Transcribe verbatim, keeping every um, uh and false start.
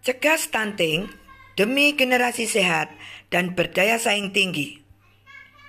Cegah stunting demi generasi sehat dan berdaya saing tinggi.